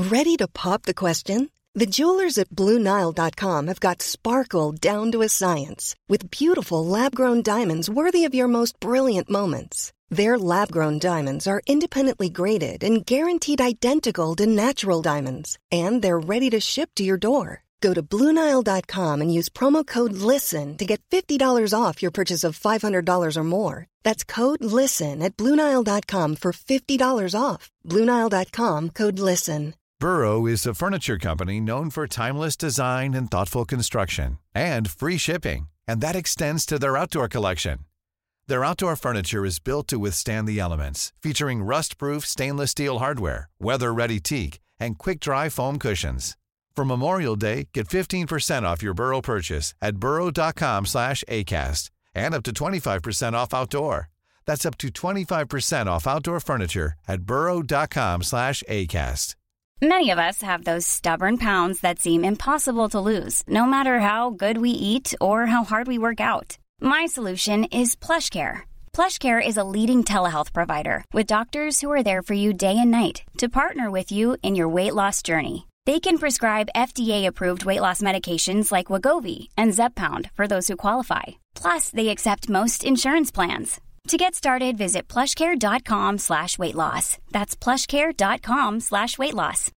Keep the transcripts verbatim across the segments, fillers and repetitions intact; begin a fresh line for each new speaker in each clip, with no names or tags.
Ready to pop the question? The jewelers at Blue Nile dot com have got sparkle down to a science with beautiful lab-grown diamonds worthy of your most brilliant moments. Their lab-grown diamonds are independently graded and guaranteed identical to natural diamonds, and they're ready to ship to your door. Go to Blue Nile dot com and use promo code LISTEN to get fifty dollars off your purchase of five hundred dollars or more. That's code LISTEN at Blue Nile dot com for fifty dollars off. Blue Nile dot com, code LISTEN.
Burrow is a furniture company known for timeless design and thoughtful construction, and free shipping, and that extends to their outdoor collection. Their outdoor furniture is built to withstand the elements, featuring rust-proof stainless steel hardware, weather-ready teak, and quick-dry foam cushions. For Memorial Day, get fifteen percent off your Burrow purchase at burrow dot com slash acast, and up to twenty-five percent off outdoor. That's up to twenty-five percent off outdoor furniture at burrow dot com slash acast.
Many of us have those stubborn pounds that seem impossible to lose, no matter how good we eat or how hard we work out. My solution is PlushCare. PlushCare is a leading telehealth provider with doctors who are there for you day and night to partner with you in your weight loss journey. They can prescribe F D A-approved weight loss medications like Wegovy and Zepbound for those who qualify. Plus, they accept most insurance plans. To get started, visit plushcare.com slash weight loss. That's plushcare.com slash weight loss.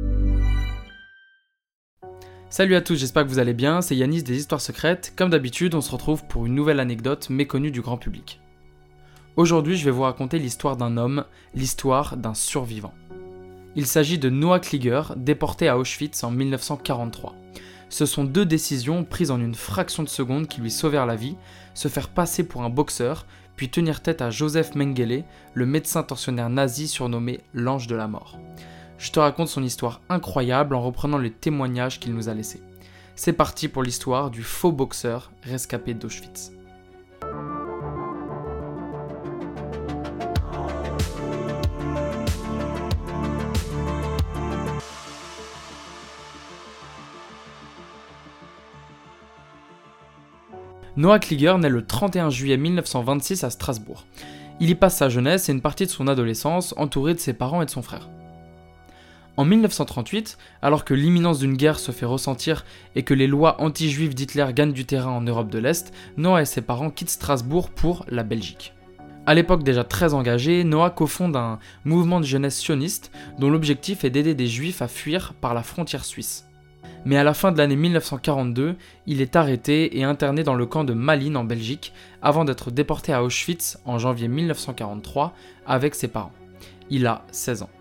Salut à tous, j'espère que vous allez bien, c'est Yanis des Histoires Secrètes. Comme d'habitude, on se retrouve pour une nouvelle anecdote méconnue du grand public. Aujourd'hui, je vais vous raconter l'histoire d'un homme, l'histoire d'un survivant. Il s'agit de Noah Kliger, déporté à Auschwitz en dix-neuf cent quarante-trois. Ce sont deux décisions prises en une fraction de seconde qui lui sauvèrent la vie, se faire passer pour un boxeur, puis tenir tête à Joseph Mengele, le médecin tortionnaire nazi surnommé l'ange de la mort. Je te raconte son histoire incroyable en reprenant les témoignages qu'il nous a laissés. C'est parti pour l'histoire du faux boxeur rescapé d'Auschwitz. Noah Kliger naît le trente et un juillet mille neuf cent vingt-six à Strasbourg. Il y passe sa jeunesse et une partie de son adolescence entouré de ses parents et de son frère. En dix-neuf cent trente-huit, alors que l'imminence d'une guerre se fait ressentir et que les lois anti-juives d'Hitler gagnent du terrain en Europe de l'Est, Noah et ses parents quittent Strasbourg pour la Belgique. À l'époque déjà très engagé, Noah cofonde un mouvement de jeunesse sioniste dont l'objectif est d'aider des juifs à fuir par la frontière suisse. Mais à la fin de l'année mille neuf cent quarante-deux, il est arrêté et interné dans le camp de Malines en Belgique avant d'être déporté à Auschwitz en janvier mille neuf cent quarante-trois avec ses parents. Il a seize ans.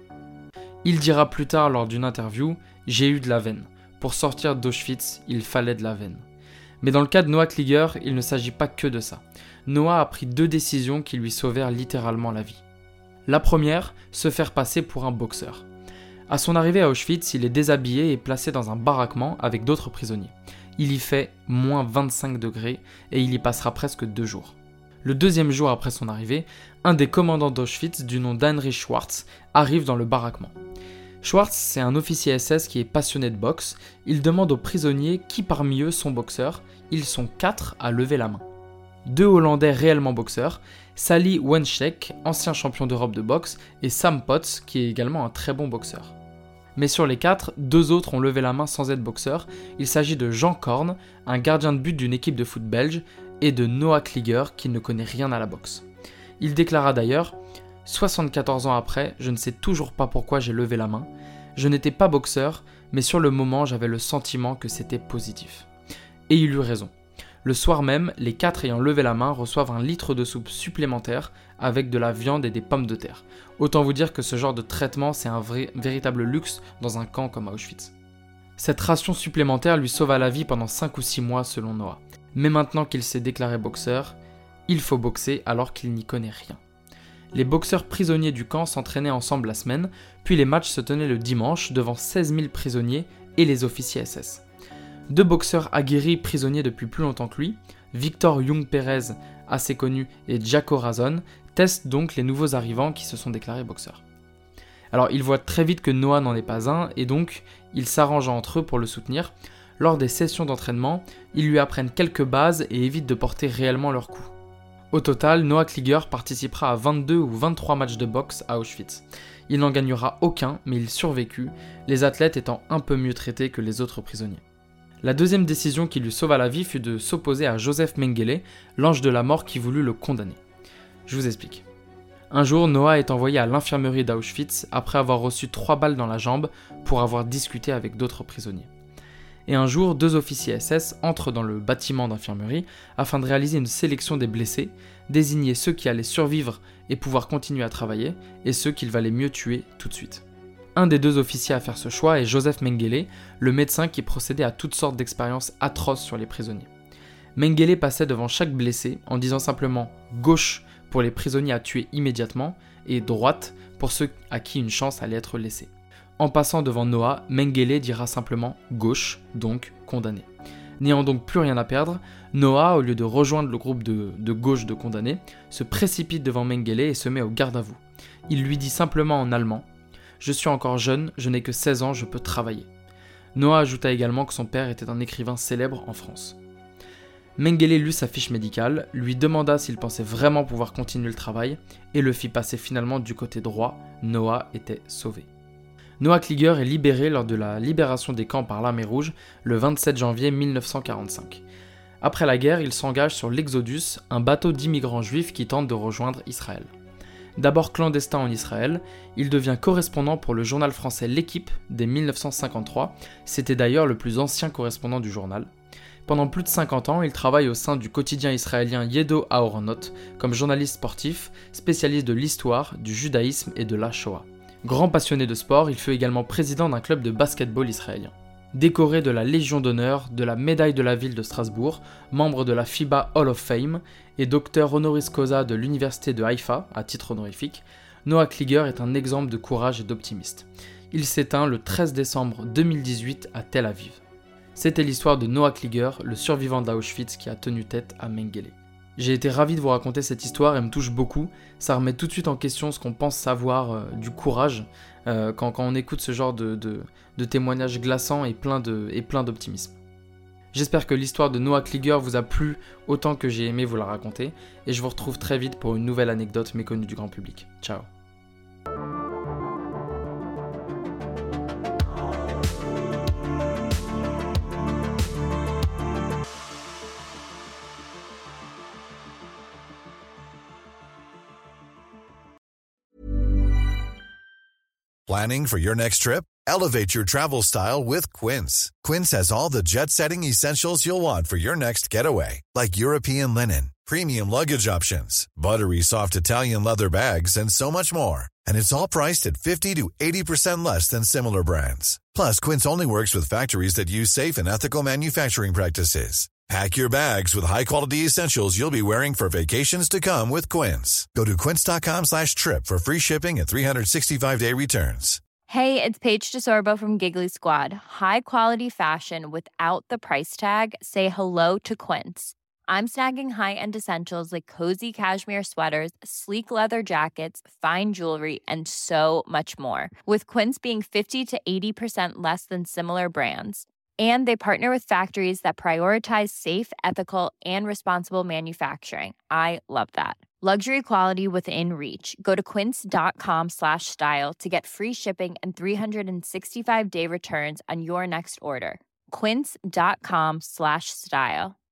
Il dira plus tard lors d'une interview « J'ai eu de la veine. Pour sortir d'Auschwitz, il fallait de la veine. » Mais dans le cas de Noah Kliger, il ne s'agit pas que de ça. Noah a pris deux décisions qui lui sauvèrent littéralement la vie. La première, se faire passer pour un boxeur. À son arrivée à Auschwitz, il est déshabillé et placé dans un baraquement avec d'autres prisonniers. Il y fait moins vingt-cinq degrés et il y passera presque deux jours. Le deuxième jour après son arrivée, un des commandants d'Auschwitz du nom d'Heinrich Schwarz arrive dans le baraquement. Schwarz, c'est un officier S S qui est passionné de boxe. Il demande aux prisonniers qui parmi eux sont boxeurs. Ils sont quatre à lever la main. Deux Hollandais réellement boxeurs, Sally Wenschek, ancien champion d'Europe de boxe, et Sam Potts, qui est également un très bon boxeur. Mais sur les quatre, deux autres ont levé la main sans être boxeurs. Il s'agit de Jean Korn, un gardien de but d'une équipe de foot belge, et de Noah Kliger, qui ne connaît rien à la boxe. Il déclara d'ailleurs « soixante-quatorze ans après, je ne sais toujours pas pourquoi j'ai levé la main. Je n'étais pas boxeur, mais sur le moment, j'avais le sentiment que c'était positif. » Et il eut raison. Le soir même, les quatre ayant levé la main reçoivent un litre de soupe supplémentaire avec de la viande et des pommes de terre. Autant vous dire que ce genre de traitement, c'est un vrai, véritable luxe dans un camp comme à Auschwitz. Cette ration supplémentaire lui sauva la vie pendant cinq ou six mois selon Noah. Mais maintenant qu'il s'est déclaré boxeur, il faut boxer alors qu'il n'y connaît rien. Les boxeurs prisonniers du camp s'entraînaient ensemble la semaine, puis les matchs se tenaient le dimanche devant seize mille prisonniers et les officiers S S. Deux boxeurs aguerris prisonniers depuis plus longtemps que lui, Victor Young-Pérez, assez connu, et Jaco Razon, testent donc les nouveaux arrivants qui se sont déclarés boxeurs. Alors ils voient très vite que Noah n'en est pas un, et donc ils s'arrangent entre eux pour le soutenir. Lors des sessions d'entraînement, ils lui apprennent quelques bases et évitent de porter réellement leurs coups. Au total, Noah Kliger participera à vingt-deux ou vingt-trois matchs de boxe à Auschwitz. Il n'en gagnera aucun, mais il survécut, les athlètes étant un peu mieux traités que les autres prisonniers. La deuxième décision qui lui sauva la vie fut de s'opposer à Joseph Mengele, l'ange de la mort qui voulut le condamner. Je vous explique. Un jour, Noah est envoyé à l'infirmerie d'Auschwitz après avoir reçu trois balles dans la jambe pour avoir discuté avec d'autres prisonniers. Et un jour, deux officiers S S entrent dans le bâtiment d'infirmerie afin de réaliser une sélection des blessés, désigner ceux qui allaient survivre et pouvoir continuer à travailler, et ceux qu'il valait mieux tuer tout de suite. Un des deux officiers à faire ce choix est Joseph Mengele, le médecin qui procédait à toutes sortes d'expériences atroces sur les prisonniers. Mengele passait devant chaque blessé en disant simplement « gauche » pour les prisonniers à tuer immédiatement et « droite » pour ceux à qui une chance allait être laissée. En passant devant Noah, Mengele dira simplement « gauche », donc condamné. N'ayant donc plus rien à perdre, Noah, au lieu de rejoindre le groupe de, de gauche de condamnés, se précipite devant Mengele et se met au garde à vous. Il lui dit simplement en allemand « Je suis encore jeune, je n'ai que seize ans, je peux travailler ». Noah ajouta également que son père était un écrivain célèbre en France. Mengele lut sa fiche médicale, lui demanda s'il pensait vraiment pouvoir continuer le travail et le fit passer finalement du côté droit. Noah était sauvé. Noah Kliger est libéré lors de la libération des camps par l'armée rouge le vingt-sept janvier mille neuf cent quarante-cinq. Après la guerre, il s'engage sur l'Exodus, un bateau d'immigrants juifs qui tente de rejoindre Israël. D'abord clandestin en Israël, il devient correspondant pour le journal français L'Équipe dès mille neuf cent cinquante-trois, c'était d'ailleurs le plus ancien correspondant du journal. Pendant plus de cinquante ans, il travaille au sein du quotidien israélien Yedo Aharonot comme journaliste sportif, spécialiste de l'histoire, du judaïsme et de la Shoah. Grand passionné de sport, il fut également président d'un club de basketball israélien. Décoré de la Légion d'honneur, de la médaille de la ville de Strasbourg, membre de la FIBA Hall of Fame et docteur honoris causa de l'université de Haïfa, à titre honorifique, Noah Kliger est un exemple de courage et d'optimisme. Il s'éteint le treize décembre deux mille dix-huit à Tel Aviv. C'était l'histoire de Noah Kliger, le survivant d'Auschwitz qui a tenu tête à Mengele. J'ai été ravi de vous raconter cette histoire, elle me touche beaucoup, ça remet tout de suite en question ce qu'on pense savoir euh, du courage euh, quand, quand on écoute ce genre de, de, de témoignages glaçants et plein, de, et plein d'optimisme. J'espère que l'histoire de Noah Kliger vous a plu autant que j'ai aimé vous la raconter, et je vous retrouve très vite pour une nouvelle anecdote méconnue du grand public. Ciao.
Planning for your next trip? Elevate your travel style with Quince. Quince has all the jet-setting essentials you'll want for your next getaway, like European linen, premium luggage options, buttery soft Italian leather bags, and so much more. And it's all priced at fifty to eighty percent less than similar brands. Plus, Quince only works with factories that use safe and ethical manufacturing practices. Pack your bags with high-quality essentials you'll be wearing for vacations to come with Quince. Go to quince.com slash trip for free shipping and three sixty-five day returns.
Hey, it's Paige DeSorbo from Giggly Squad. High quality fashion without the price tag. Say hello to Quince. I'm snagging high-end essentials like cozy cashmere sweaters, sleek leather jackets, fine jewelry, and so much more. With Quince being fifty to eighty percent less than similar brands. And they partner with factories that prioritize safe, ethical, and responsible manufacturing. I love that. Luxury quality within reach. Go to quince.com slash style to get free shipping and three sixty-five day returns on your next order. Quince.com slash style.